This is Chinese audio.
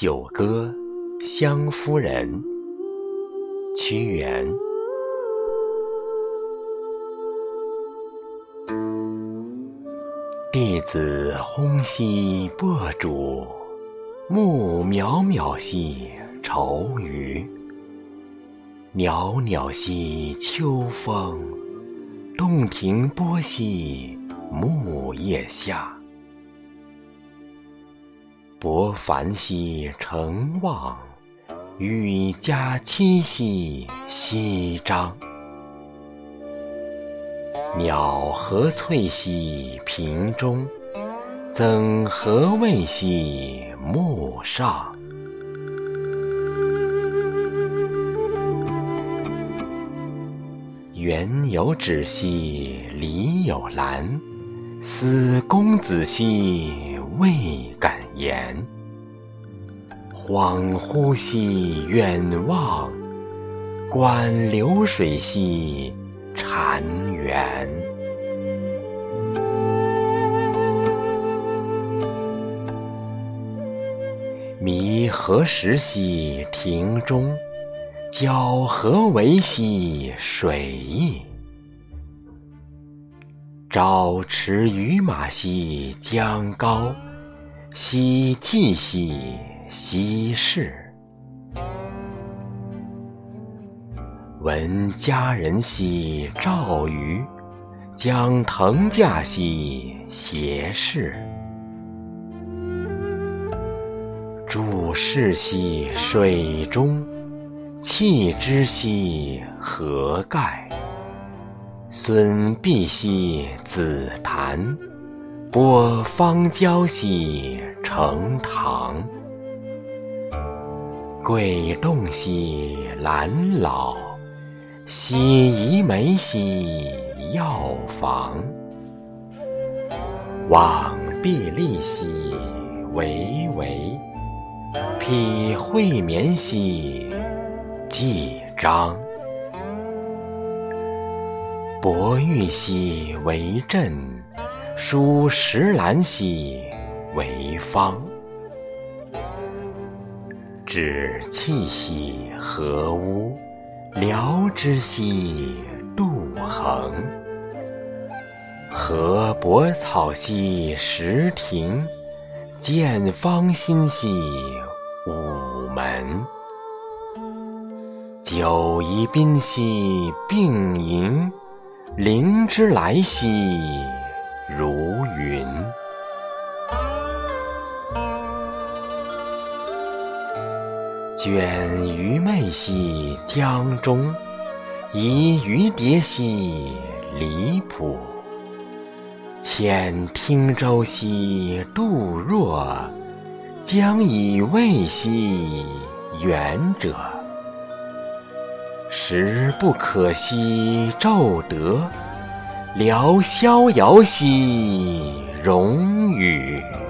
九歌·湘夫人，屈原。弟子烘兮簸煮，木渺渺兮愁余。袅袅兮秋风，洞庭波兮木叶下。伯凡兮成望，羽加期兮翕张。鸟何翠兮屏中，赠何味兮木上。园有芷兮篱有兰，思公子兮未敢言。恍惚兮远望，观流水兮潺湲。迷何时兮庭中，皎何为兮水翼。朝驰于马兮将高，夕稷兮羲氏。闻佳人兮赵瑜，将腾驾兮偕世。注视兮水中，弃之兮何盖。孙跸兮子檀，播芳郊兮成堂。桂动兮兰老，西夷梅兮药房。望壁立兮巍巍，披会眠兮既章。博玉兮为阵，疏石兰兮为方。止气兮何屋，疗之兮杜衡。合柏草兮石庭，见芳馨兮午门。久宜宾兮并营，灵芝来兮如云。卷鱼媚兮江中，移鱼蝶兮离浦。遣汀舟兮杜若，将以慰兮远者。时不可兮骤得，聊逍遥兮荣宇。